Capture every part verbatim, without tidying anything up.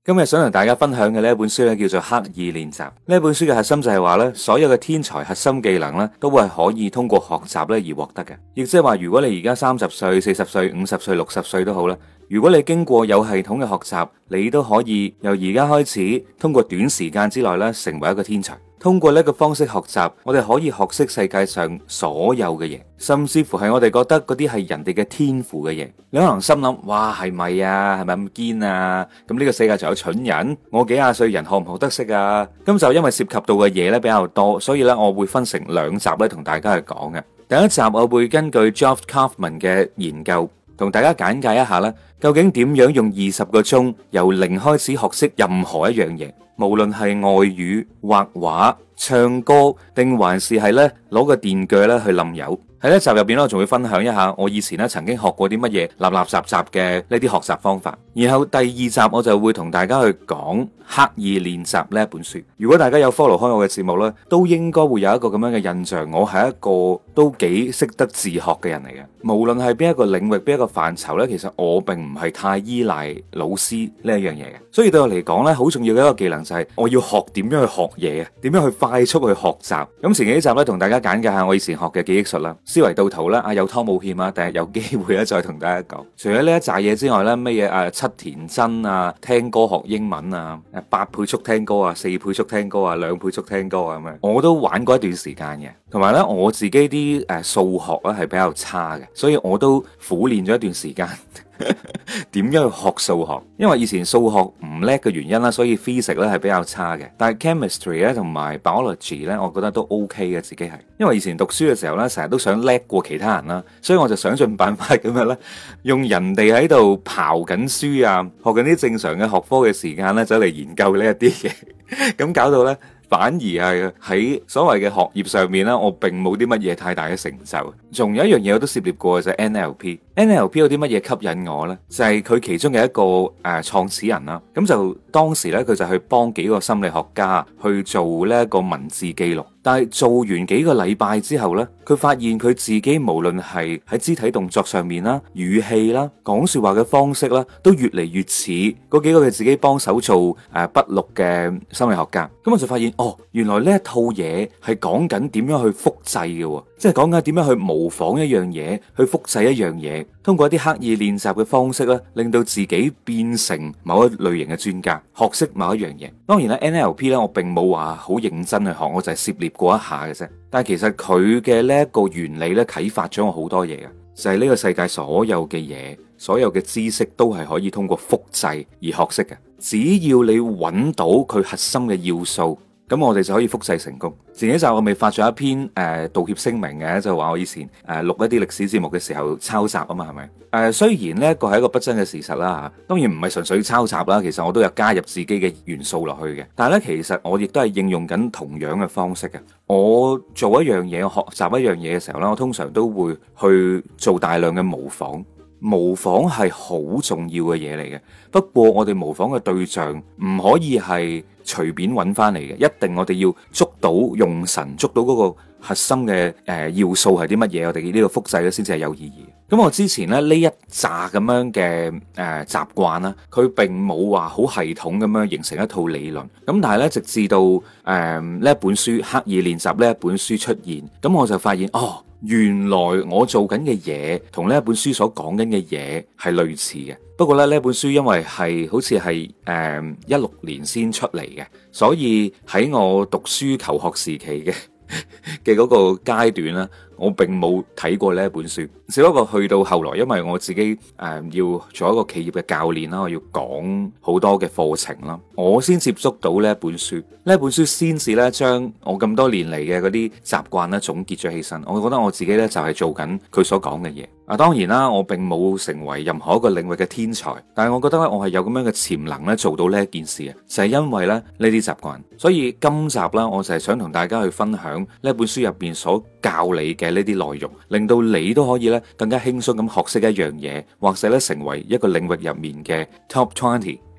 今日想同大家分享嘅呢一本書咧，叫做《刻意練習》。呢一本書嘅核心就係話咧，所有嘅天才核心技能咧，都會係可以通過學習咧而獲得嘅。亦即係話，如果你而家三十歲、四十歲、五十歲、六十歲都好啦，如果你經過有系統嘅學習，你都可以由而家開始，通過短時間之內咧，成為一個天才。通過呢個方式學習，我哋可以學識世界上所有嘅嘢，甚至乎係我哋覺得嗰啲係人哋嘅天賦嘅嘢。你可能心諗，哇，係咪啊？係咪咁堅啊？咁呢個世界仲有蠢人？我幾廿歲人學唔學得識啊？咁就因為涉及到嘅嘢咧比較多，所以咧我會分成兩集咧同大家去講嘅。第一集我會根據 Geoff Kaufman 嘅研究，同大家簡介一下咧，究竟點樣用二十個鐘由零開始學識任何一樣嘢。無論係外語、畫畫、唱歌，定還是係咧攞個電鋸咧去冧油。喺呢集入邊咧，我仲會分享一下我以前咧曾經學過啲乜嘢立立雜雜嘅呢啲學習方法。然後第二集我就會同大家去講刻意練習呢一本書。如果大家有 follow 開我嘅節目咧，都應該會有一個咁樣嘅印象，我係一個都幾識得自學嘅人嚟嘅。無論係邊一個領域、邊一個範疇咧，其實我並唔係太依賴老師呢一樣嘢嘅。所以對我嚟講咧，好重要嘅一個技能就係我要學點樣去學嘢啊，點樣去快速去學習。咁前幾集咧，同大家簡介下我以前學嘅記憶術啦。思維導圖啦，啊有拖冇欠啊，第日有機會咧再同大家講。除咗呢一紮嘢之外咧，咩嘢誒七田真啊，聽歌學英文啊，誒八倍速聽歌啊，四倍速聽歌啊，兩倍速聽歌啊咁樣，我都玩過一段時間嘅。同埋咧，我自己啲誒數學咧係比較差嘅，所以我都苦練咗一段時間。點樣去學數學？因為以前數學唔叻嘅原因啦，所以 physics 咧係比較差嘅。但係 chemistry 咧同埋 biology 咧，我覺得都 OK 嘅，自己係。因為以前讀書嘅時候咧，成日都想叻過其他人啦，所以我就想盡辦法咁樣咧，用人哋喺度刨緊書啊，學緊啲正常嘅學科嘅時間咧，走嚟研究呢一啲嘢，咁搞到咧。反而係喺所謂嘅學業上面咧，我並冇啲乜嘢太大嘅成就。仲有一樣嘢我都涉獵過，就係 N L P。N L P 有啲乜嘢吸引我呢？就係佢其中嘅一個誒創始人啦。咁就當時咧，佢就去幫幾個心理學家去做呢一個文字記錄。但係做完幾個禮拜之後呢，佢發現佢自己無論係喺肢體動作上面啦、語氣啦、講說話嘅方式啦，都越嚟越似嗰幾個佢自己幫手做誒筆錄嘅心理學家。咁我就發現，哦，原來呢一套嘢係講緊點樣去複製嘅，即係講緊點樣去模仿一樣嘢，去複製一樣嘢，通過一啲刻意練習嘅方式咧，令到自己變成某一類型嘅專家，學識某一樣嘢。當然啦 ，N L P 咧，我並冇話好認真去學，我就係涉獵過一下嘅啫。但係其實佢嘅呢一個原理咧，啟發咗我好多嘢嘅，就係呢個世界所有嘅嘢，所有嘅知識都係可以通過複製而學識嘅。只要你揾到佢核心嘅要素，咁我哋就可以複製成功。前幾集我未發咗一篇誒、呃、道歉聲明嘅，就話我以前誒、呃、錄一啲歷史節目嘅時候抄襲啊嘛，係咪？誒、呃、雖然呢一個係一個不爭嘅事實啦，當然唔係純粹抄襲啦，其實我都有加入自己嘅元素落去嘅。但係咧，其實我亦都係應用緊同樣嘅方式嘅。我做一樣嘢，我學習一樣嘢嘅時候咧，我通常都會去做大量嘅模仿。模仿係好重要嘅嘢嚟嘅，不過我哋模仿嘅對象唔可以係隨便揾翻嚟嘅，一定我哋要捉到用神，捉到嗰個核心嘅誒、呃、要素係啲乜嘢，我哋呢個複製咧先至係有意義。咁我之前咧呢一紮咁樣嘅誒習慣啦，佢並冇話好系統咁樣形成一套理論。咁但係咧，直至到誒呢一本書刻意練習呢一本書出現，咁我就發現哦。原來我做緊嘅嘢同呢一本書所講緊嘅嘢係類似嘅，不過咧呢一本書因為係好似係誒一六年先出嚟嘅，所以喺我讀書求學時期嘅嘅嗰個階段啦，我並冇睇過呢一本書，只不過去到後來，因為我自己誒、呃、要做一個企業嘅教練啦，我要講好多嘅課程啦，我先接觸到呢一本書，呢一本書先至咧將我咁多年嚟嘅嗰啲習慣咧總結咗起身，我覺得我自己咧就係做緊佢所講嘅嘢。啊，當然啦，我並冇成為任何一個領域嘅天才，但係我覺得咧，我係有咁樣嘅潛能咧做到呢一件事嘅，就係因為咧呢啲習慣。所以今集啦，我就係想同大家去分享呢本書入邊所教你嘅呢啲內容，令到你都可以咧更加輕鬆咁學識一樣嘢，或者咧成為一個領域入面嘅 top twenty。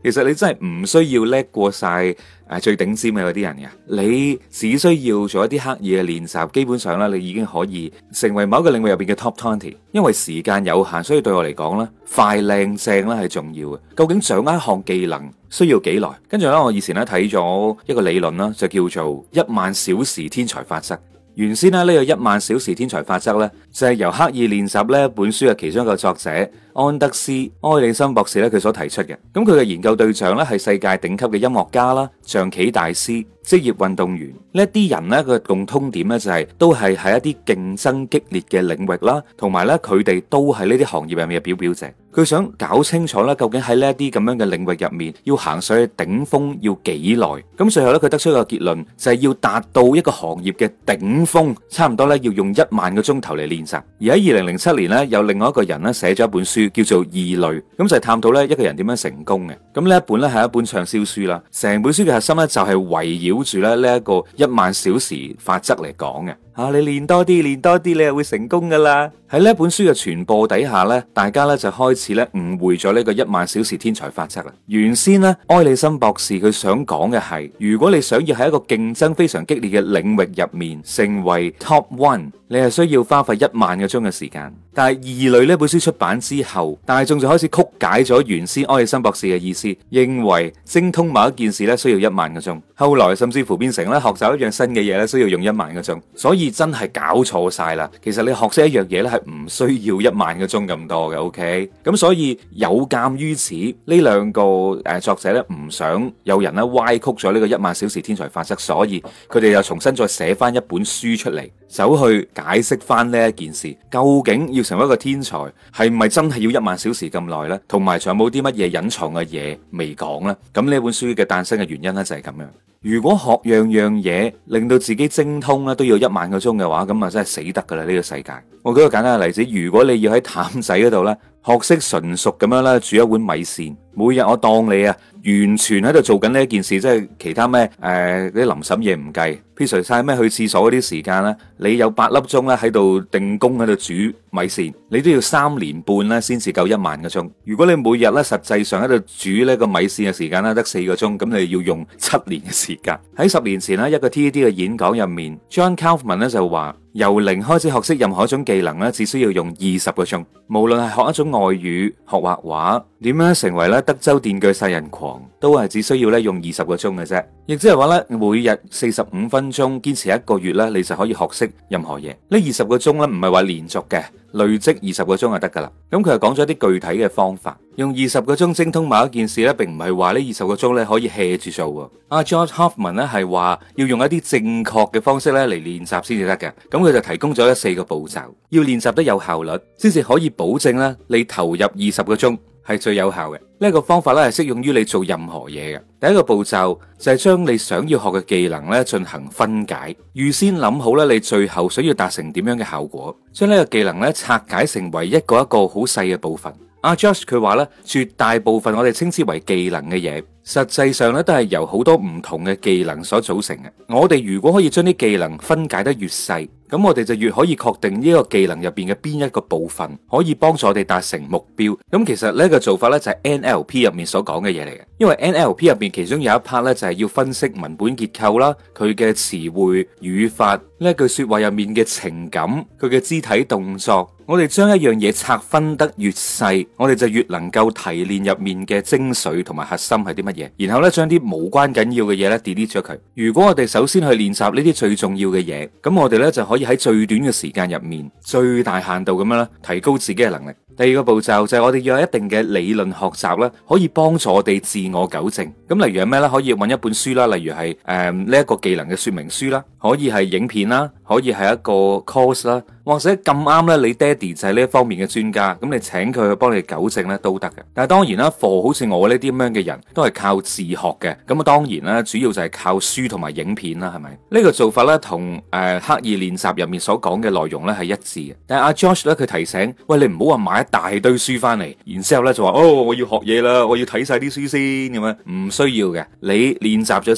其實你真係唔需要叻過晒誒最頂尖嘅嗰啲人嘅，你只需要做一啲刻意嘅練習，基本上咧你已經可以成為某一個領域入邊嘅 top twenty。因為時間有限，所以對我嚟講咧，快靚正咧係重要嘅。究竟掌握一項技能需要幾耐？跟住咧，我以前咧睇咗一個理論啦，就叫做一萬小時天才法則。原先咧呢個一萬小時天才法則咧，就係由刻意練習呢本書嘅其中一個作者安德斯埃里森博士咧佢所提出嘅。咁佢嘅研究對象咧係世界頂級嘅音樂家啦、象棋大師、職業運動員呢一啲人咧嘅共通點咧就係都係喺一啲競爭激烈嘅領域啦，同埋咧佢哋都係呢啲行業入面嘅表表者。佢想搞清楚咧，究竟喺呢一啲咁樣嘅領域入面，要行上去頂峰要幾耐？咁最後咧，佢得出一個結論，就係要達到一個行業嘅頂峰，差唔多咧要用一萬個鐘頭嚟練習。而喺二零零七年咧，有另外一個人咧寫咗一本書，叫做《異類》，咁就係探討咧一個人點樣成功嘅。咁呢一本咧係一本暢銷書啦，成本書嘅核心咧就係圍繞住咧呢一個一萬小時法則嚟講嘅。吓、啊，你練多啲，練多啲，你就會成功噶啦。喺呢本書嘅傳播底下咧，大家咧就開始咧誤會咗呢個一萬小時天才法則啦。原先咧，埃里森博士佢想講嘅係，如果你想要喺一個競爭非常激烈嘅領域入面成為 top one，你係需要花費一萬個鐘嘅時間。但係異類呢本書出版之後，大眾就開始曲解咗原先埃里森博士嘅意思，認為精通某一件事咧需要一萬個鐘。後來甚至乎變成咧學習一樣新嘅嘢咧需要用一萬個鐘。所以真係搞錯晒啦。其實你學識一樣嘢咧係唔需要一萬個鐘咁多嘅。OK，咁所以有鑒於此，呢兩個誒作者咧唔想有人咧歪曲咗呢個一萬小時天才法則，所以佢哋又重新再寫翻一本書出嚟，走去解釋翻呢一件事。究竟要成為一個天才，係咪真係要一萬小時咁耐呢？同埋仲有冇啲乜嘢隱藏嘅嘢未講呢？咁呢本書嘅誕生嘅原因咧就係咁樣。如果學樣樣嘢令到自己精通咧都要一萬個鐘嘅話，咁啊真係死得噶啦呢個世界。我舉個簡單嘅例子，如果你要喺譚仔嗰度咧學識純熟咁樣咧煮一碗米線，每日我當你啊完全喺度做緊呢一件事，即係其他咩誒啲臨審嘢唔計，撇除晒咩去廁所嗰啲時間咧，你有八粒鐘咧喺度定工喺度煮米線，你都要三年半咧先至夠一萬個鐘。如果你每日咧實際上喺度煮呢個米線嘅時間咧得四個鐘，咁你要用七年嘅時間。喺十年前咧一個 T E D 嘅演講入面 ，John Kaufman 咧就話，由零開始學識任何一種技能咧，只需要用二十個鐘。無論係學一種外語、學畫畫，點樣成為咧德州電鋸殺人狂，都係只需要咧用二十個鐘嘅啫。亦即係話咧，每日四十五分鐘，堅持一個月咧，你就可以學識任何嘢。呢二十個鐘咧，唔係話連續嘅，累積二十個鐘就得噶啦。咁佢又講咗一啲具體嘅方法，用二十個鐘精通某一件事咧，並唔係話呢二十個鐘咧可以 hea 住做。阿 George Hoffman 咧係話要用一啲正確嘅方式咧嚟練習先至得嘅。咁佢就提供咗咧四個步驟，要練習得有效率，先至可以保證咧你投入二十個鐘係最有效嘅。呢一個方法咧係適用於你做任何嘢嘅。第一個步驟就係將你想要學嘅技能咧進行分解，預先諗好咧你最後想要達成點樣嘅效果，將呢個技能咧拆解成為一個一個好細嘅部分。阿 Josh 佢話咧，絕大部分我哋稱之為技能嘅嘢，實際上咧都係由好多唔同嘅技能所組成嘅。我哋如果可以將啲技能分解得越細，咁我哋就越可以確定呢個技能入邊嘅邊一個部分可以幫助我哋達成目標。咁其實呢個做法咧就係 N L P 入面所講嘅嘢嚟嘅。因為 N L P 入邊其中有一 part 咧就係要分析文本結構啦，佢嘅詞彙、語法，呢一句說話入面嘅情感，佢嘅肢體動作。我哋將一樣嘢拆分得越細，我哋就越能夠提煉入面嘅精髓同埋核心係啲乜嘢，然後咧將啲無關緊要嘅嘢咧 delete 咗佢。如果我哋首先去練習呢啲最重要嘅嘢，咁我哋咧就可以喺最短嘅時間入面，最大限度咁樣咧提高自己嘅能力。第二個步驟就係我哋要有一定嘅理論學習啦，可以幫助我哋自我糾正。咁例如係咩咧？可以揾一本書啦，例如係誒呢一個技能嘅說明書啦，可以係影片啦，可以係一個 course 啦，或者咁啱咧你爹哋就係呢一方面嘅專家，咁你請佢去幫你糾正咧都得嘅。但係當然啦，課好似我呢啲咁樣嘅人都係靠自學嘅，咁啊當然啦，主要就係靠書同埋影片啦，係咪？呢個做法咧同誒刻意練習入面所講嘅內容咧係一致嘅。但係阿 Josh 咧佢提醒，喂，你唔好話買一大堆書翻嚟，然之後咧就話哦我要學嘢啦，我要睇晒啲書先咁樣，唔需要嘅。你練習咗先，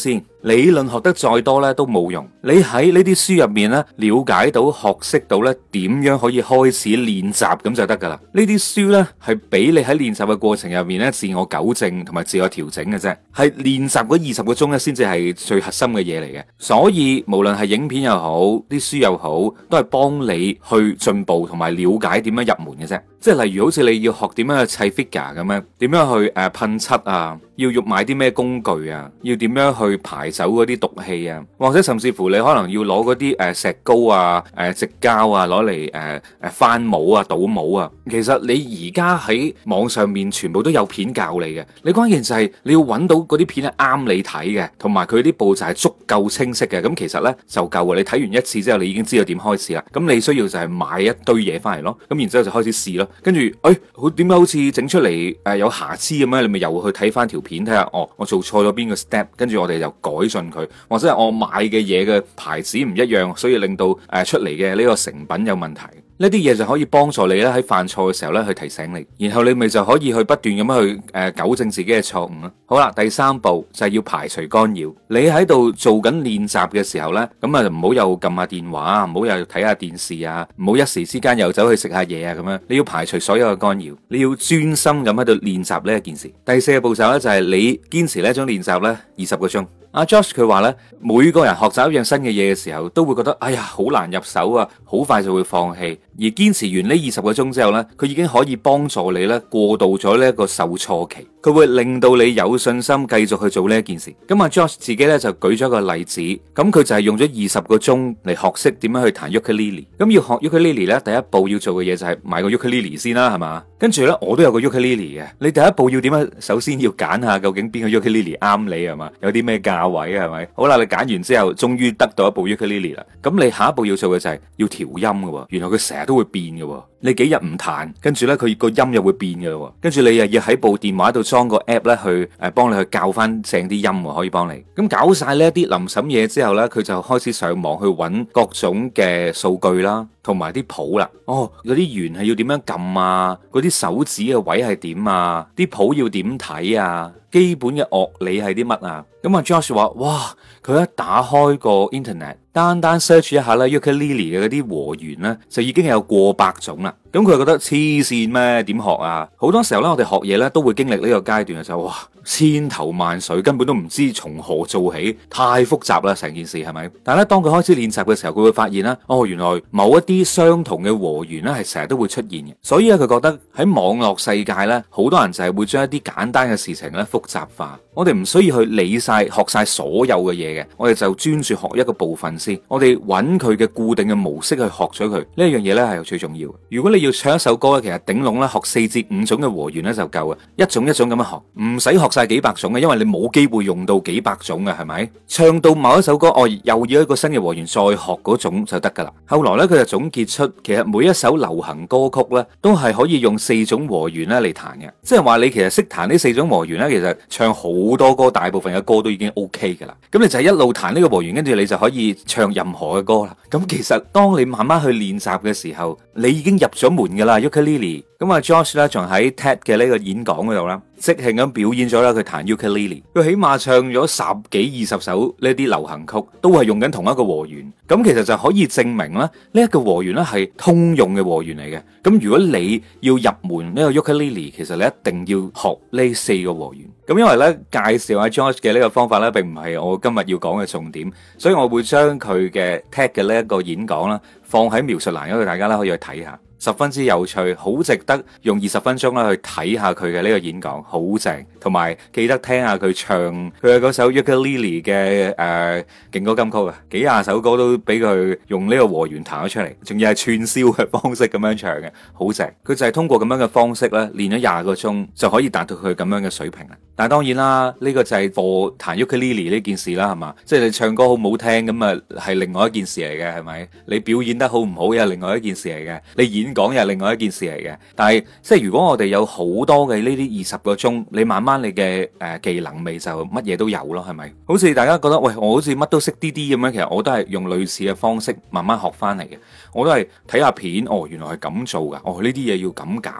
理論學得再多咧都冇用。你喺呢啲書入面咧了解到、學識到咧點樣可以開始練習咁就得噶啦。呢啲書咧係俾你喺練習嘅過程入面咧自我糾正同埋自我調整嘅啫，係練習嗰二十個鐘咧先至係最核心嘅嘢嚟嘅。所以無論係影片又好，啲書又好，都係幫你去進步同埋了解點樣入門嘅啫。即係例如好似你要學點樣去砌 figure 咁樣，點樣去誒噴漆啊，要用買啲咩工具啊，要點樣去排走嗰啲毒氣啊，或者甚至乎你可能要攞嗰啲誒石膏啊、誒矽膠啊攞嚟誒誒翻模啊、倒模啊。其實你而家喺網上面全部都有片教你嘅，你關鍵就係你要揾到嗰啲片係啱你睇嘅，同埋佢啲步驟係足夠清晰嘅。咁其實呢就夠啊！你睇完一次之後，你已經知道點開始啦。咁你需要就係買一堆嘢翻嚟咯，咁然之後就開始試咯。跟住，誒、哎，好點解好似整出嚟誒、呃、有瑕疵咁樣？你咪又去睇翻條片睇下，哦，我做錯咗邊個 step， 跟住我哋又改進佢，或者係我買嘅嘢嘅牌子唔一樣，所以令到誒、呃、出嚟嘅呢個成品有問題。呢啲嘢就可以幫助你咧喺犯錯嘅時候咧去提醒你，然後你咪就可以去不斷咁樣去誒糾正自己嘅錯誤咯。好啦，第三步就係要排除干擾。你喺度做緊練習嘅時候咧，咁啊唔好又撳下電話，唔好又睇下電視啊，唔好一時之間又走去食下嘢啊咁樣。你要排除所有嘅干擾，你要專心咁喺度練習呢一件事。第四個步驟咧就係你堅持呢一種練習咧二十個鐘。阿 Josh 佢話咧，每個人學習一樣新嘅嘢嘅時候，都會覺得哎呀好難入手啊，好快就會放棄。而堅持完呢二十個鐘之後咧，佢已經可以幫助你咧過渡咗呢一個受挫期，佢會令到你有信心繼續去做呢一件事。咁阿 Josh 自己咧就舉咗一個例子，咁佢就係用咗二十個鐘嚟學識點樣去彈 ukulele。咁要學 ukulele 咧，第一步要做嘅嘢就係買個 ukulele 先啦，係嘛？跟住咧，我都有個 ukulele 嘅。你第一步要點樣？首先要揀下究竟邊個 ukulele 啱你係嘛？有啲咩價位係咪？好啦，你揀完之後，終於得到一部 ukulele 啦。咁你下一步要做嘅就係要調音嘅。原來佢成日都會變嘅。你幾日唔彈，跟住咧佢個音又會變嘅。跟住你又要喺部電話度裝個 app 咧去誒幫你去教翻正啲音，可以幫你。咁搞晒呢一啲臨審嘢之後咧，佢就開始上網去揾各種嘅數據啦，同埋啲譜啦。哦，嗰啲弦係要點樣撳啊？嗰啲手指嘅位係點啊？啲譜要點睇啊？基本嘅樂理係啲乜啊？咁啊 Josh 話：哇！佢一打開個 internet，單單 search 一下咧 ukulele 嘅嗰啲和弦咧，就已經有過百種啦。咁佢覺得黐線咩？點學啊？好多時候咧，我哋學嘢咧都會經歷呢個階段嘅，就哇千頭萬緒，根本都唔知從何做起，太複雜啦成件事係咪？但係咧，當佢開始練習嘅時候，佢會發現啦，哦，原來某一啲相同嘅和弦咧係成日都會出現嘅。所以咧，佢覺得喺網絡世界咧，好多人就係會將一啲簡單嘅事情咧複雜化。我哋唔需要去理晒、學晒所有嘅嘢嘅，我哋就專注學一個部分先。我哋揾佢嘅固定嘅模式去學咗佢，呢一樣嘢咧係最重要。如果你要唱一首歌咧，其實頂籠咧學四至五種嘅和弦咧就夠嘅，一種一種咁樣學，唔使學晒幾百種嘅，因為你冇機會用到幾百種嘅，係咪？唱到某一首歌，哦，又要一個新嘅和弦再學嗰種就得噶啦。後來咧佢就總結出，其實每一首流行歌曲咧都係可以用四種和弦咧嚟彈嘅，即係話你其實識彈呢四種和弦咧，其實唱好多歌，大部分嘅歌都已經 OK 噶啦。咁你就係一路彈呢個和弦，跟住你就可以唱任何嘅歌啦。咁其實當你慢慢去練習嘅時候，你已經入咗門噶啦 ukulele。咁啊 Josh 咧仲喺 TED 嘅呢個演講嗰度啦，即興咁表演咗啦佢彈 ukulele。佢起碼唱咗十幾二十首呢啲流行曲，都係用緊同一個和弦。咁其實就可以證明啦，呢一個和弦咧係通用嘅和弦嚟嘅。咁如果你要入門呢個 ukulele，其實你一定要學呢四個和弦。咁因為咧介紹阿 Josh 嘅呢個方法咧，並唔係我今日要講嘅重點，所以我會將佢嘅 TED 嘅呢一個演講啦，放喺描述欄嗰度，大家咧可以去睇下。十分之有趣，好值得用二十分鐘啦去睇下佢嘅呢個演講，好正，同埋記得聽下佢唱佢嘅嗰首 ukulele 嘅誒勁歌金曲啊，幾廿首歌都俾佢用呢個和弦彈咗出嚟，仲要係串燒嘅方式咁樣唱嘅，好正。佢就係通過咁樣嘅方式咧，練咗廿個鐘就可以達到佢咁樣嘅水平啦。但係當然啦，呢個就係課彈 ukulele 呢件事啦，係嘛？即係你唱歌好唔好聽咁啊，係另外一件事嚟嘅，係咪？你表演得好唔好又係另外一件事嚟嘅，你演講又係另外一件事嚟嘅。但係即係如果我哋有好多嘅呢啲二十個鐘，你慢慢你嘅誒技能咪就乜嘢都有咯，係咪？好似大家覺得喂，我好似乜都識啲啲咁樣，其實我都係用類似嘅方式慢慢學翻嚟嘅。我都係睇下片，哦，原來係咁做噶，哦，呢啲嘢要咁搞噶。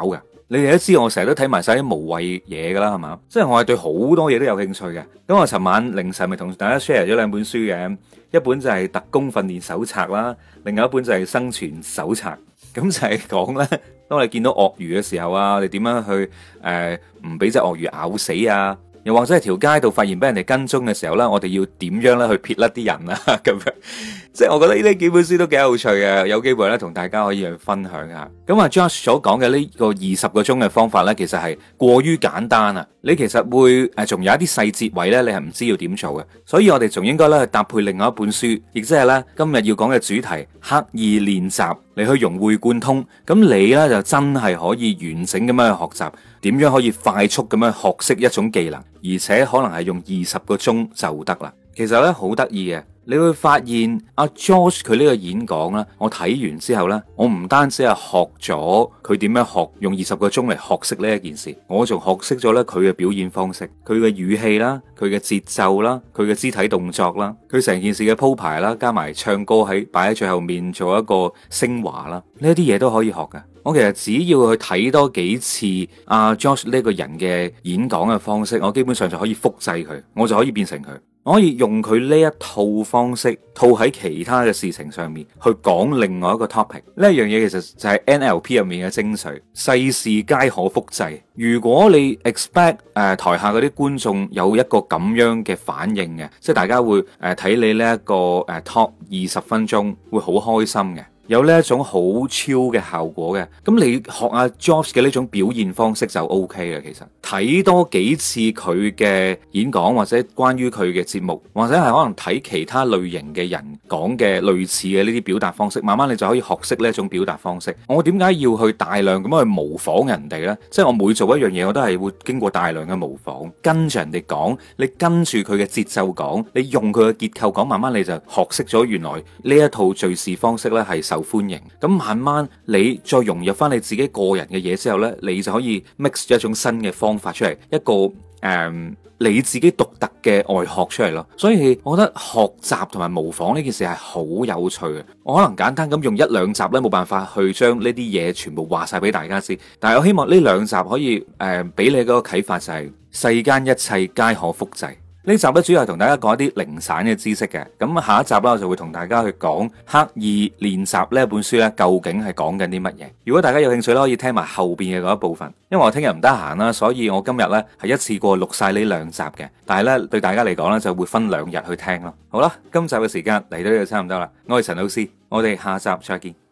你哋都知我成日都睇埋晒啲無謂嘢噶啦，係嘛？即係我係對好多嘢都有興趣嘅。咁我尋晚凌晨咪同大家 share 咗兩本書嘅，一本就係特工訓練手冊啦，另外一本就係生存手冊。咁就係講咧，當你見到鱷魚嘅時候啊，你點樣去誒唔俾隻鱷魚咬死啊？又或者係條街度發現俾人哋跟蹤嘅時候咧，我哋要點樣咧去撇甩啲人啊？咁樣，即係我覺得呢啲幾本書都幾有趣嘅，有機會咧同大家可以去分享下。咁啊 Josh 所講嘅呢個二十個鐘嘅方法咧，其實係過於簡單啊！你其實會誒仲有一啲細節位咧，你係唔知要點做嘅，所以我哋仲應該咧去搭配另外一本書，亦即係咧今日要講嘅主題刻意練習嚟去融會貫通。咁你咧就真係可以完整咁樣去學習，點樣可以快速咁樣學識一種技能，而且可能係用二十個鐘就得啦。其實咧好得意嘅，你會發現阿 George 佢呢個演講咧，我睇完之後咧，我唔單止係學咗佢點樣學用二十個鐘嚟學識呢一件事，我仲學識咗咧佢嘅表演方式，佢嘅語氣啦，佢嘅節奏啦，佢嘅肢體動作啦，佢成件事嘅鋪排啦，加埋唱歌喺擺喺最後面做一個升華啦，呢啲嘢都可以學㗎。我其實只要去睇多幾次阿 George 呢個人嘅演講嘅方式，我基本上就可以複製佢，我就可以變成佢。我可以用佢呢一套方式套喺其他嘅事情上面去講另外一個 topic。呢一樣嘢其實就係 N L P 入面嘅精髓，世事皆可複製。如果你 expect 誒、呃、台下嗰啲觀眾有一個咁樣嘅反應嘅，即係大家會誒睇、呃、你呢、這、一個誒、呃、talk 二十分鐘會好開心嘅，有呢一種好超嘅效果嘅，咁你學阿 George 嘅呢種表現方式就 OK 啦。其實睇多幾次佢嘅演講或者關於佢嘅節目，或者係可能睇其他類型嘅人講嘅類似嘅呢啲表達方式，慢慢你就可以學識呢一種表達方式。我點解要去大量咁樣去模仿人哋呢？即係我每做一樣嘢，我都係會經過大量嘅模仿，跟住人哋講，你跟住佢嘅節奏講，你用佢嘅結構講，慢慢你就學識咗原來呢一套敘事方式呢係受歡迎。咁慢慢你再融入翻你自己個人嘅嘢之後呢，你就可以 mix 咗一種新嘅方法出嚟，一個誒、嗯、你自己獨特嘅外殼出嚟咯。所以我覺得學習同埋模仿呢件事係好有趣嘅。我可能簡單咁用一兩集呢，冇辦法去將呢啲嘢全部話晒俾大家知，但係我希望呢兩集可以誒俾、呃、你嗰個啟發就係、是、世間一切皆可複製。呢集咧主要係同大家講一啲零散嘅知識嘅，咁下一集啦我就會同大家去講刻意練習呢一本書咧究竟係講緊啲乜嘢。如果大家有興趣咧，可以聽埋後邊嘅嗰一部分，因為我聽日唔得閒啦，所以我今日咧係一次過錄晒呢兩集嘅，但係咧對大家嚟講咧就會分兩日去聽咯。好啦，今集嘅時間嚟到呢度差唔多啦，我係陳老師，我哋下集再見。